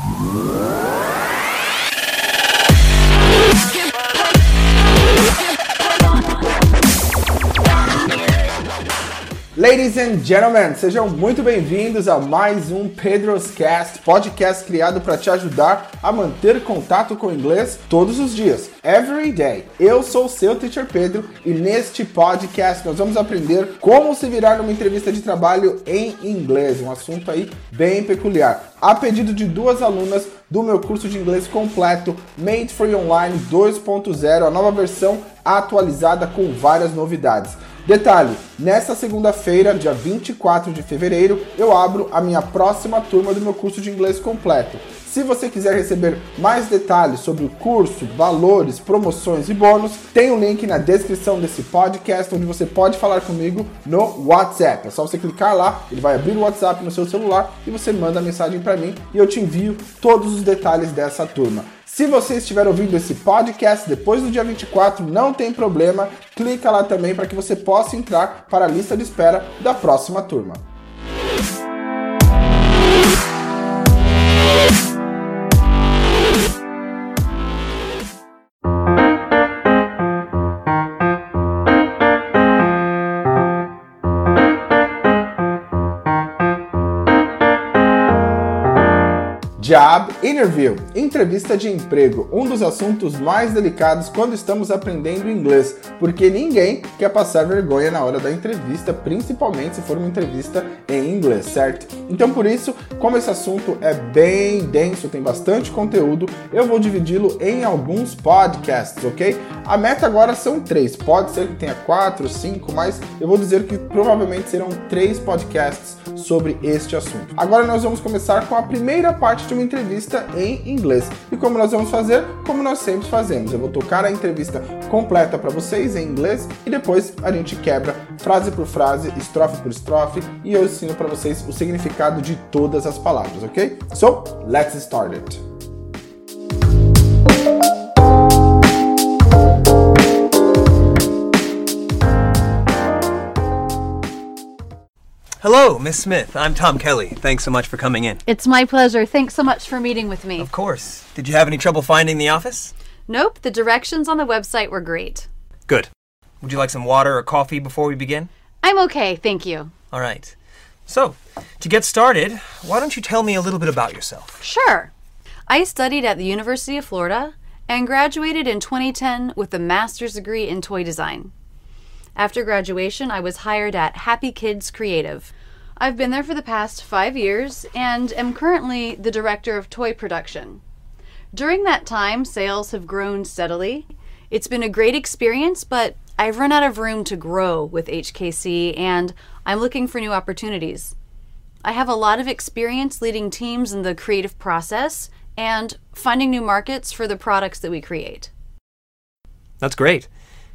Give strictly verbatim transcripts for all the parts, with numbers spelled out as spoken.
Ladies and gentlemen, sejam muito bem-vindos a mais um Pedro's Cast, podcast criado para te ajudar a manter contato com o inglês todos os dias, every day. Eu sou o seu Teacher Pedro e neste podcast nós vamos aprender como se virar numa entrevista de trabalho em inglês, um assunto aí bem peculiar. A pedido de duas alunas do meu curso de inglês completo, Made for You Online dois ponto zero, a nova versão atualizada com várias novidades. Detalhe, nesta segunda-feira, dia vinte e quatro de fevereiro, eu abro a minha próxima turma do meu curso de inglês completo. Se você quiser receber mais detalhes sobre o curso, valores, promoções e bônus, tem um link na descrição desse podcast onde você pode falar comigo no WhatsApp. É só você clicar lá, ele vai abrir o WhatsApp no seu celular e você manda a mensagem para mim e eu te envio todos os detalhes dessa turma. Se você estiver ouvindo esse podcast depois do dia vinte e quatro, não tem problema, clica lá também para que você possa entrar para a lista de espera da próxima turma. Job Interview, entrevista de emprego, um dos assuntos mais delicados quando estamos aprendendo inglês, porque ninguém quer passar vergonha na hora da entrevista, principalmente se for uma entrevista em inglês, certo? Então por isso, como esse assunto é bem denso, tem bastante conteúdo, eu vou dividi-lo em alguns podcasts, ok? A meta agora são três, pode ser que tenha quatro, cinco, mas eu vou dizer que provavelmente serão três podcasts sobre este assunto. Agora nós vamos começar com a primeira parte de uma entrevista em inglês. E como nós vamos fazer? Como nós sempre fazemos. Eu vou tocar a entrevista completa para vocês em inglês e depois a gente quebra frase por frase, estrofe por estrofe e eu ensino para vocês o significado de todas as palavras, ok? So, let's start it. Hello, Miss Smith. I'm Tom Kelly. Thanks so much for coming in. It's my pleasure. Thanks so much for meeting with me. Of course. Did you have any trouble finding the office? Nope, the directions on the website were great. Good. Would you like some water or coffee before we begin? I'm okay, thank you. All right. So, to get started, why don't you tell me a little bit about yourself? Sure. I studied at the University of Florida and graduated in twenty ten with a master's degree in toy design. After graduation, I was hired at Happy Kids Creative. I've been there for the past five years and am currently the director of toy production. During that time, sales have grown steadily. It's been a great experience, but I've run out of room to grow with H K C and I'm looking for new opportunities. I have a lot of experience leading teams in the creative process and finding new markets for the products that we create. That's great.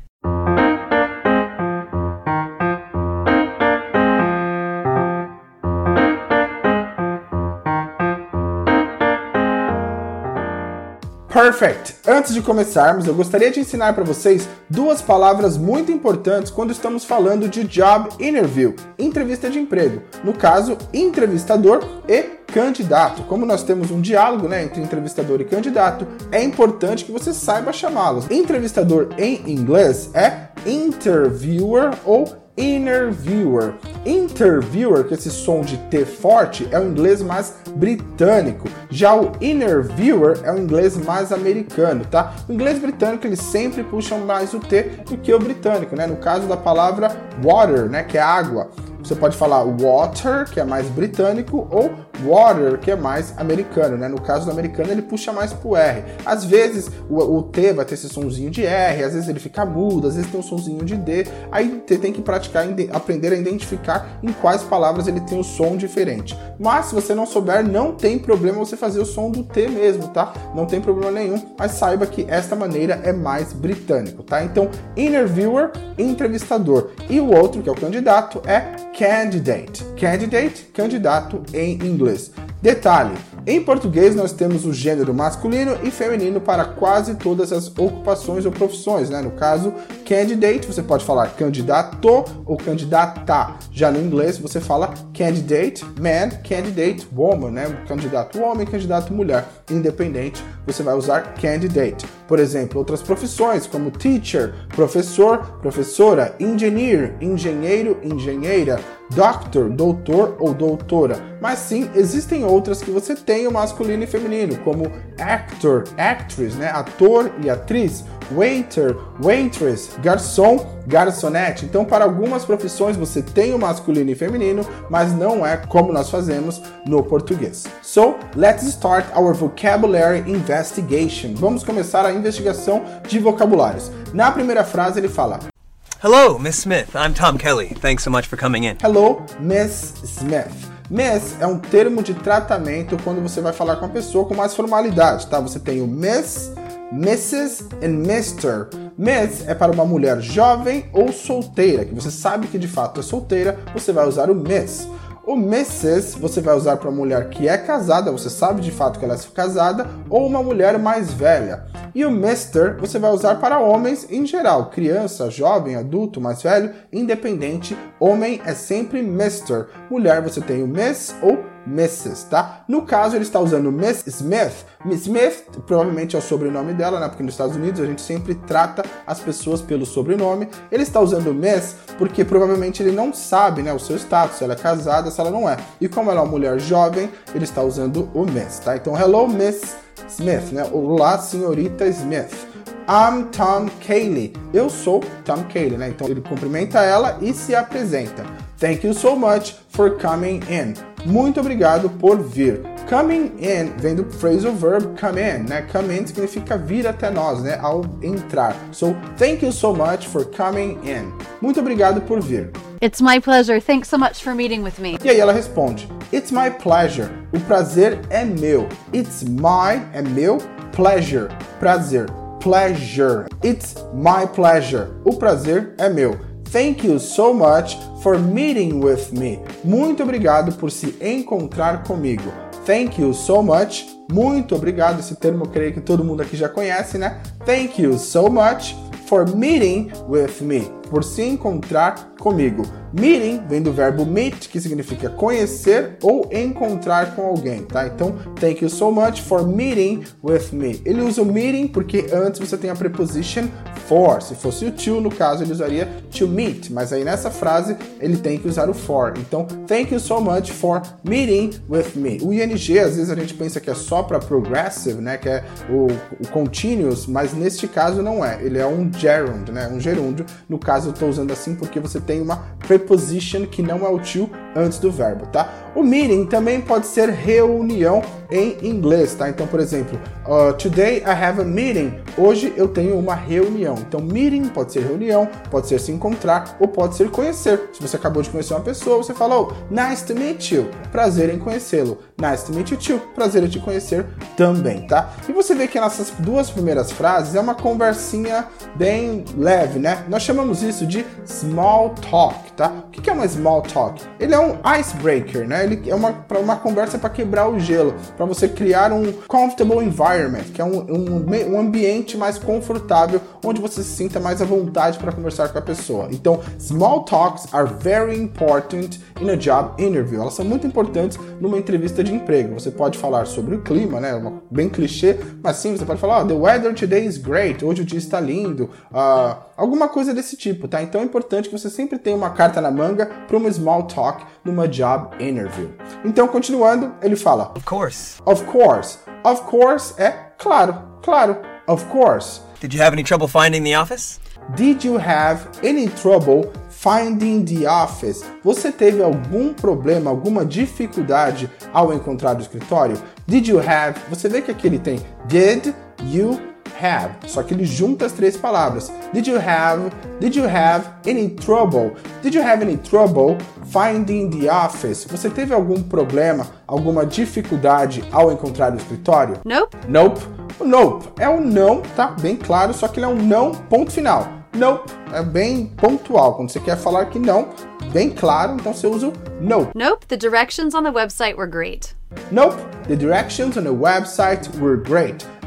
Perfect! Antes de começarmos, eu gostaria de ensinar para vocês duas palavras muito importantes quando estamos falando de job interview, entrevista de emprego. No caso, entrevistador e candidato. Como nós temos um diálogo, né, entre entrevistador e candidato, é importante que você saiba chamá-los. Entrevistador em inglês é interviewer ou interviewer. Interviewer, com esse som de T forte, é o inglês mais britânico. Já o interviewer é o inglês mais americano, tá? O inglês britânico, eles sempre puxam mais o T do que o britânico, né? No caso da palavra water, né, que é água. Você pode falar water, que é mais britânico, ou water, que é mais americano, né? No caso do americano, ele puxa mais pro R. Às vezes, o, o T vai ter esse sonzinho de R, às vezes ele fica mudo, às vezes tem um sonzinho de D. Aí você tem que praticar, aprender a identificar em quais palavras ele tem o som diferente. Mas, se você não souber, não tem problema você fazer o som do T mesmo, tá? Não tem problema nenhum, mas saiba que esta maneira é mais britânico, tá? Então, interviewer, entrevistador. E o outro, que é o candidato, é candidate. Candidate, candidato em inglês. Detalhe, em português nós temos o gênero masculino e feminino para quase todas as ocupações ou profissões, né? No caso, candidate, você pode falar candidato ou candidata. Já no inglês, você fala candidate man, candidate woman, né? Candidato homem, candidato mulher. Independente, você vai usar candidate. Por exemplo, outras profissões como teacher, professor, professora, engineer, engenheiro, engenheira, doctor, doutor ou doutora. Mas sim, existem outras que você tem o masculino e feminino, como actor, actress, né? Ator e atriz, waiter, waitress, garçom, garçonete. Então, para algumas profissões você tem o masculino e feminino, mas não é como nós fazemos no português. So, let's start our vocabulary investigation. Vamos começar a investigação de vocabulários. Na primeira frase ele fala: Hello, Miss Smith. I'm Tom Kelly. Thanks so much for coming in. Hello, Miss Smith. Miss é um termo de tratamento quando você vai falar com a pessoa com mais formalidade, tá? Você tem o Miss, missus e mister. Miss é para uma mulher jovem ou solteira, que você sabe que de fato é solteira, você vai usar o Miss. O missus você vai usar para uma mulher que é casada, você sabe de fato que ela é casada, ou uma mulher mais velha. E o mister você vai usar para homens em geral, criança, jovem, adulto, mais velho, independente. Homem é sempre mister. Mulher você tem o miss ou missus, tá? No caso, ele está usando Miss Smith. Miss Smith, provavelmente é o sobrenome dela, né? Porque nos Estados Unidos a gente sempre trata as pessoas pelo sobrenome. Ele está usando Miss porque provavelmente ele não sabe, né, o seu status, se ela é casada, se ela não é. E como ela é uma mulher jovem, ele está usando o Miss, tá? Então, hello, Miss Smith, né? Olá, senhorita Smith. I'm Tom Kelly. Eu sou Tom Kelly, né? Então ele cumprimenta ela e se apresenta. Thank you so much for coming in. Muito obrigado por vir. Coming in vem do phrasal verb come in, né? Come in significa vir até nós, né? Ao entrar. So, thank you so much for coming in. Muito obrigado por vir. It's my pleasure. Thanks so much for meeting with me. E aí ela responde: It's my pleasure. O prazer é meu. It's my é meu, pleasure, prazer. Pleasure. It's my pleasure. O prazer é meu. Thank you so much for meeting with me. Muito obrigado por se encontrar comigo. Thank you so much. Muito obrigado. Esse termo eu creio que todo mundo aqui já conhece, né? Thank you so much for meeting with me. Por se encontrar comigo. Meeting vem do verbo meet, que significa conhecer ou encontrar com alguém, tá? Então, thank you so much for meeting with me. Ele usa o meeting porque antes você tem a preposition for. Se fosse o to, no caso, ele usaria to meet. Mas aí nessa frase, ele tem que usar o for. Então, thank you so much for meeting with me. O ing, às vezes a gente pensa que é só para progressive, né? Que é o, o continuous, mas neste caso não é. Ele é um gerund, né? Um gerúndio. No caso, eu estou usando assim porque você tem uma preposition que não é o to antes do verbo, tá? O meeting também pode ser reunião em inglês, tá? Então, por exemplo, uh, today I have a meeting. Hoje eu tenho uma reunião. Então, meeting pode ser reunião, pode ser se encontrar ou pode ser conhecer. Se você acabou de conhecer uma pessoa, você fala, oh, nice to meet you. Prazer em conhecê-lo. Nice to meet you too. Prazer em te conhecer também, tá? E você vê que nessas duas primeiras frases é uma conversinha bem leve, né? Nós chamamos isso de small talk, tá? O que é uma small talk? Ele é um icebreaker, né? Ele é uma, uma conversa para quebrar o gelo, para você criar um comfortable environment, que é um, um, um ambiente mais confortável, onde você se sinta mais à vontade para conversar com a pessoa. Então, small talks are very important in a job interview. Elas são muito importantes numa entrevista de emprego. Você pode falar sobre o clima, né? Uma, bem clichê, mas sim, você pode falar, oh, the weather today is great. Hoje o dia está lindo. Uh, alguma coisa desse tipo, tá? Então é importante que você sempre tenha uma carta na manga para uma small talk numa job interview. Então, continuando, ele fala, Of course. Of course. Of course é claro, claro. Of course. Did you have any trouble finding the office? Did you have any trouble finding the office? Você teve algum problema, alguma dificuldade ao encontrar o escritório? Did you have? Você vê que aqui ele tem did you have, só que ele junta as três palavras. Did you have? Did you have any trouble? Did you have any trouble finding the office? Você teve algum problema, alguma dificuldade ao encontrar o escritório? Nope. Nope. O nope é um não, tá? Bem claro, só que ele é um não, ponto final. Nope é bem pontual. Quando você quer falar que não, bem claro, então você usa o nope. Nope, the directions on the website were great. Nope, the directions on the website were great.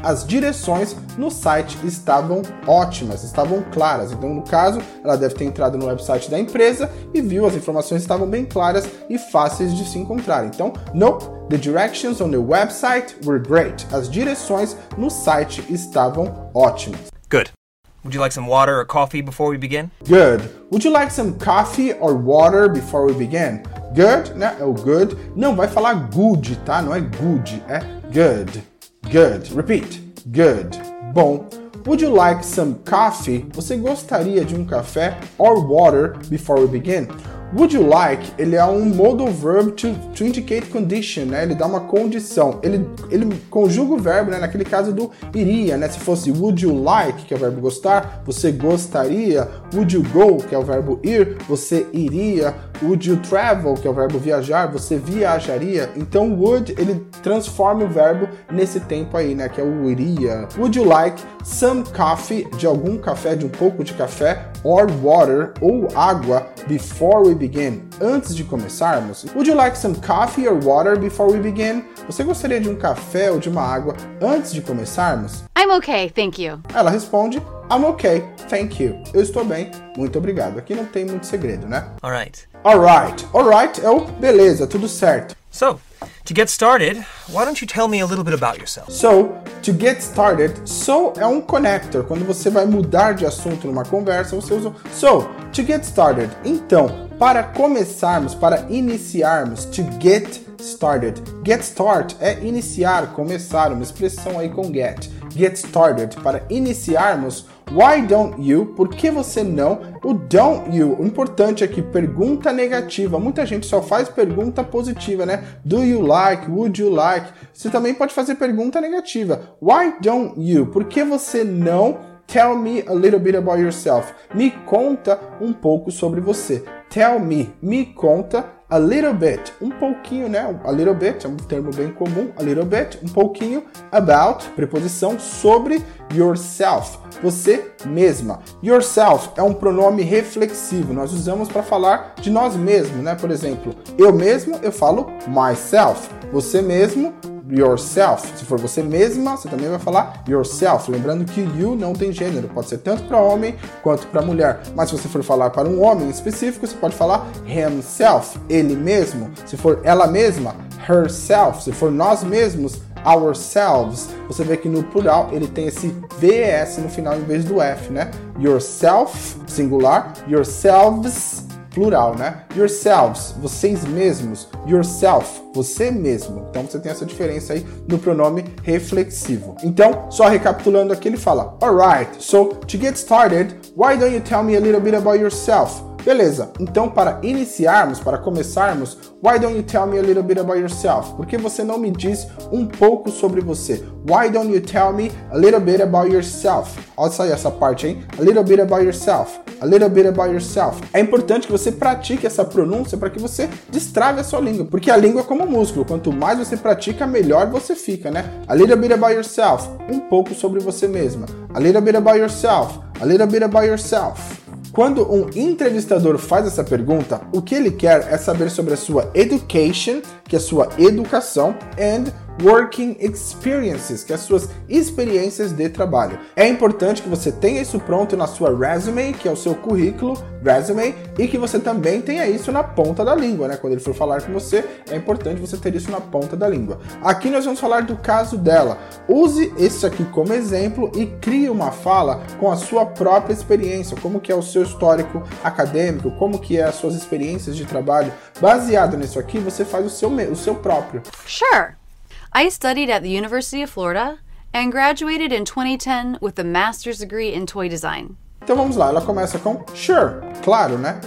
as direções no site estavam ótimas, estavam claras. Então, no caso, ela deve ter entrado no website da empresa e viu as informações estavam bem claras e fáceis de se encontrar. Então, nope, the directions on the website were great. As direções no site estavam ótimas. Good. Would you like some water or coffee before we begin? Good. Would you like some coffee or water before we begin? Good, né? É o good. Não vai falar good, tá? Não é good, é good. Good. Repeat. Good. Bom. Would you like some coffee? Você gostaria de um café or water before we begin? Would you like, ele é um modal verb to, to indicate condition, né? Ele dá uma condição. Ele, ele conjuga o verbo, né? Naquele caso do iria, né? Se fosse would you like, que é o verbo gostar, você gostaria. Would you go, que é o verbo ir, você iria. Would you travel, que é o verbo viajar, você viajaria. Então, would, ele transforma o verbo nesse tempo aí, né? Que é o iria. Would you like some coffee, de algum café, de um pouco de café, or water, ou água, before we begin, antes de começarmos? Would you like some coffee or water before we begin? Você gostaria de um café ou de uma água antes de começarmos? I'm okay, thank you. Ela responde, I'm okay, thank you. Eu estou bem, muito obrigado. Aqui não tem muito segredo, né? Alright. Alright, alright é o beleza, tudo certo. So, to get started, why don't you tell me a little bit about yourself? So, to get started, so é um connector. Quando você vai mudar de assunto numa conversa, você usa so, to get started. Então, para começarmos, para iniciarmos, to get started. Get start é iniciar, começar, uma expressão aí com get. Get started, para iniciarmos, why don't you? Por que você não? O don't you, o importante aqui, pergunta negativa. Muita gente só faz pergunta positiva, né? Do you like? Would you like? Você também pode fazer pergunta negativa. Why don't you? Por que você não? Tell me a little bit about yourself. Me conta um pouco sobre você. Tell me, me conta a little bit, um pouquinho, né? A little bit é um termo bem comum. A little bit, um pouquinho. About, preposição sobre yourself, você mesma. Yourself é um pronome reflexivo. Nós usamos para falar de nós mesmos, né? Por exemplo, eu mesmo, eu falo myself. Você mesmo, yourself. Se for você mesma, você também vai falar yourself. Lembrando que you não tem gênero, pode ser tanto para homem quanto para mulher. Mas se você for falar para um homem específico, você pode falar himself, ele mesmo. Se for ela mesma, herself. Se for nós mesmos, ourselves. Você vê que no plural ele tem esse V S no final em vez do F, né? Yourself, singular, yourselves, plural, né? Yourselves, vocês mesmos. Yourself, você mesmo. Então você tem essa diferença aí no pronome reflexivo. Então, só recapitulando aqui, ele fala: Alright, so to get started, why don't you tell me a little bit about yourself? Beleza, então para iniciarmos, para começarmos, why don't you tell me a little bit about yourself? Por que você não me diz um pouco sobre você? Why don't you tell me a little bit about yourself? Olha só essa parte, hein? A little bit about yourself. A little bit about yourself. É importante que você pratique essa pronúncia para que você destrave a sua língua, porque a língua é como um músculo. Quanto mais você pratica, melhor você fica, né? A little bit about yourself. Um pouco sobre você mesma. A little bit about yourself. A little bit about yourself. Quando um entrevistador faz essa pergunta, o que ele quer é saber sobre a sua education, que é a sua educação, and working experiences, que é as suas experiências de trabalho. É importante que você tenha isso pronto na sua resume, que é o seu currículo, resume, e que você também tenha isso na ponta da língua, né? Quando ele for falar com você, é importante você ter isso na ponta da língua. Aqui nós vamos falar do caso dela. Use esse aqui como exemplo e crie uma fala com a sua própria experiência, como que é o seu histórico acadêmico, como que é as suas experiências de trabalho. Baseado nisso aqui, você faz o seu, o seu próprio. Sure. I studied at the University of Florida and graduated in twenty ten with a master's degree in toy design. Então vamos lá, ela começa com sure, claro, né?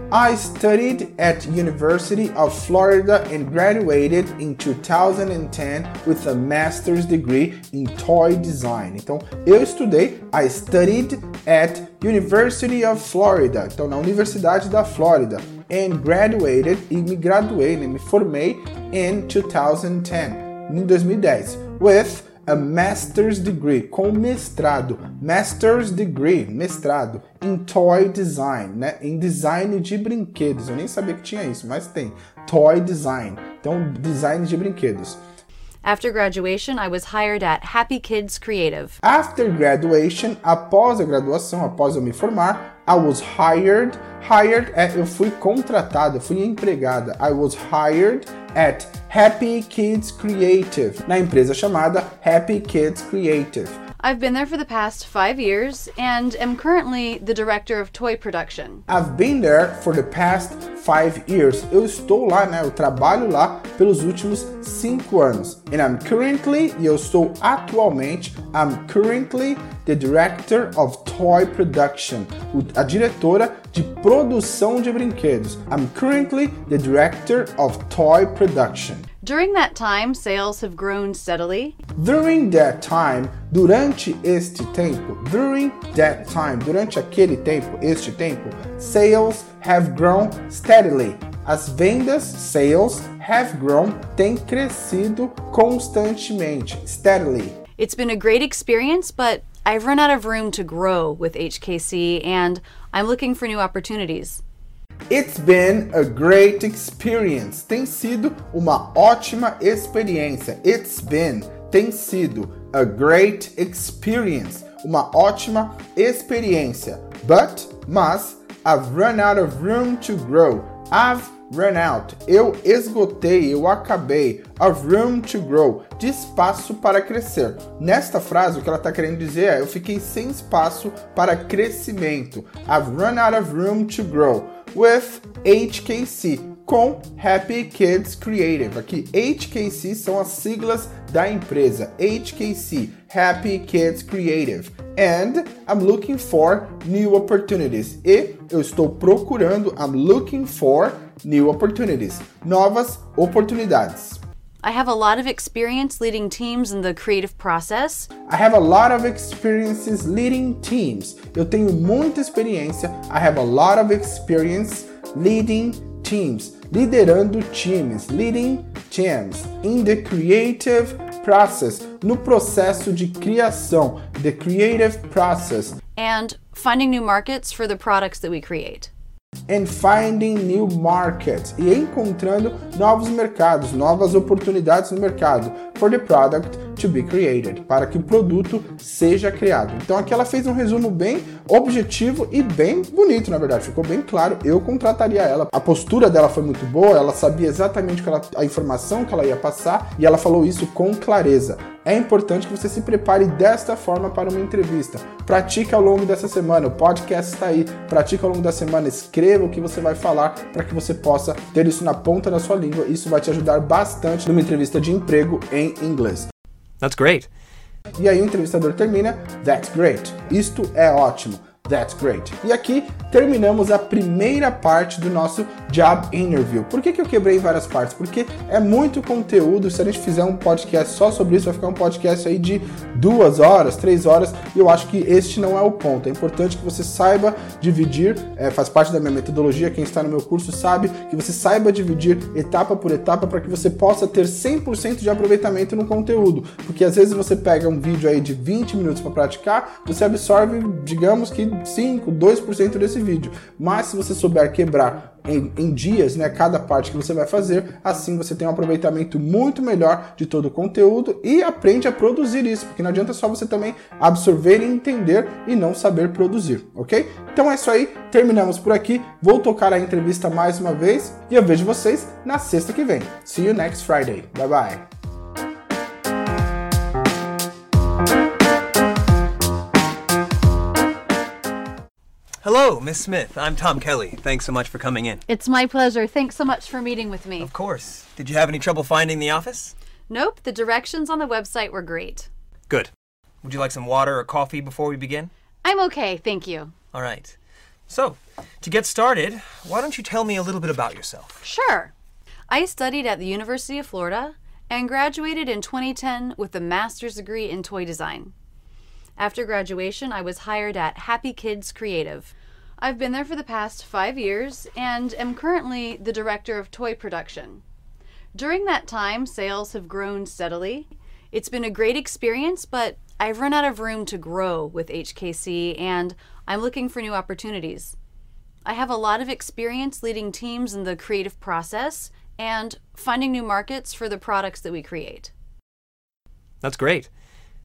I studied at University of Florida and graduated in two thousand ten with a master's degree in toy design. Então, eu estudei, I studied at University of Florida, então na Universidade da Flórida, and graduated, e me graduei, né, me formei in two thousand ten. Em dois mil e dez, with a master's degree, com mestrado, master's degree, mestrado, em toy design, né, em design de brinquedos. Eu nem sabia que tinha isso, mas tem, toy design, então design de brinquedos. After graduation, I was hired at Happy Kids Creative. After graduation, após a graduação, após eu me formar, I was hired. Hired é eu fui contratada, eu fui empregada. I was hired at Happy Kids Creative, na empresa chamada Happy Kids Creative. I've been there for the past five years and am currently the director of toy production. I've been there for the past five years. Eu estou lá, né? Eu trabalho lá pelos últimos cinco anos. And I'm currently, e eu estou atualmente, I'm currently the director of toy production, a diretora de produção de brinquedos. I'm currently the director of toy production. During that time, sales have grown steadily. During that time, durante este tempo, during that time, durante aquele tempo, este tempo, sales have grown steadily. As vendas, sales, have grown, têm crescido constantemente, steadily. It's been a great experience, but I've run out of room to grow with H K C and I'm looking for new opportunities. It's been a great experience. Tem sido uma ótima experiência. It's been, tem sido, a great experience. Uma ótima experiência. But, mas, I've run out of room to grow. I've run out. Eu esgotei, eu acabei. Of room to grow. De espaço para crescer. Nesta frase, o que ela está querendo dizer é: eu fiquei sem espaço para crescimento. I've run out of room to grow. With H K C, com Happy Kids Creative. Aqui, H K C são as siglas da empresa. H K C, Happy Kids Creative. And I'm looking for new opportunities. E eu estou procurando, I'm looking for new opportunities. Novas oportunidades. I have a lot of experience leading teams in the creative process. I have a lot of experiences leading teams. Eu tenho muita experiência. I have a lot of experience leading teams. Liderando times. Leading teams. In the creative process. No processo de criação. The creative process. And finding new markets for the products that we create. And finding new markets, e encontrando novos mercados, novas oportunidades no mercado, for the product to be created, para que o produto seja criado. Então aqui ela fez um resumo bem objetivo e bem bonito, na verdade, ficou bem claro. Eu contrataria ela. A postura dela foi muito boa, ela sabia exatamente que ela, a informação que ela ia passar e ela falou isso com clareza. É importante que você se prepare desta forma para uma entrevista. Pratique ao longo dessa semana, o podcast está aí. Pratique ao longo da semana, escreva o que você vai falar para que você possa ter isso na ponta da sua língua. Isso vai te ajudar bastante numa entrevista de emprego em inglês. That's great. E aí o entrevistador termina, that's great. Isto é ótimo. That's great. E aqui terminamos a primeira parte do nosso Job Interview. Por que que eu quebrei em várias partes? Porque é muito conteúdo. Se a gente fizer um podcast só sobre isso, vai ficar um podcast aí de duas horas, três horas. E eu acho que este não é o ponto. É importante que você saiba dividir, é, faz parte da minha metodologia. Quem está no meu curso sabe que você saiba dividir etapa por etapa para que você possa ter cem por cento de aproveitamento no conteúdo. Porque às vezes você pega um vídeo aí de vinte minutos para praticar, você absorve, digamos que cinco, dois por cento desse vídeo. Mas se você souber quebrar em, em dias, né, cada parte que você vai fazer, assim você tem um aproveitamento muito melhor de todo o conteúdo e aprende a produzir isso, porque não adianta só você também absorver e entender e não saber produzir, ok? Então é isso aí, terminamos por aqui. Vou tocar a entrevista mais uma vez e eu vejo vocês na sexta que vem. See you next Friday. Bye bye. Hello, Miss Smith. I'm Tom Kelly. Thanks so much for coming in. It's my pleasure. Thanks so much for meeting with me. Of course. Did you have any trouble finding the office? Nope, the directions on the website were great. Good. Would you like some water or coffee before we begin? I'm okay, thank you. All right. So, to get started, why don't you tell me a little bit about yourself? Sure. I studied at the University of Florida and graduated in twenty ten with a master's degree in toy design. After graduation, I was hired at Happy Kids Creative. I've been there for the past five years and am currently the director of toy production. During that time, sales have grown steadily. It's been a great experience, but I've run out of room to grow with H K C and I'm looking for new opportunities. I have a lot of experience leading teams in the creative process and finding new markets for the products that we create. That's great.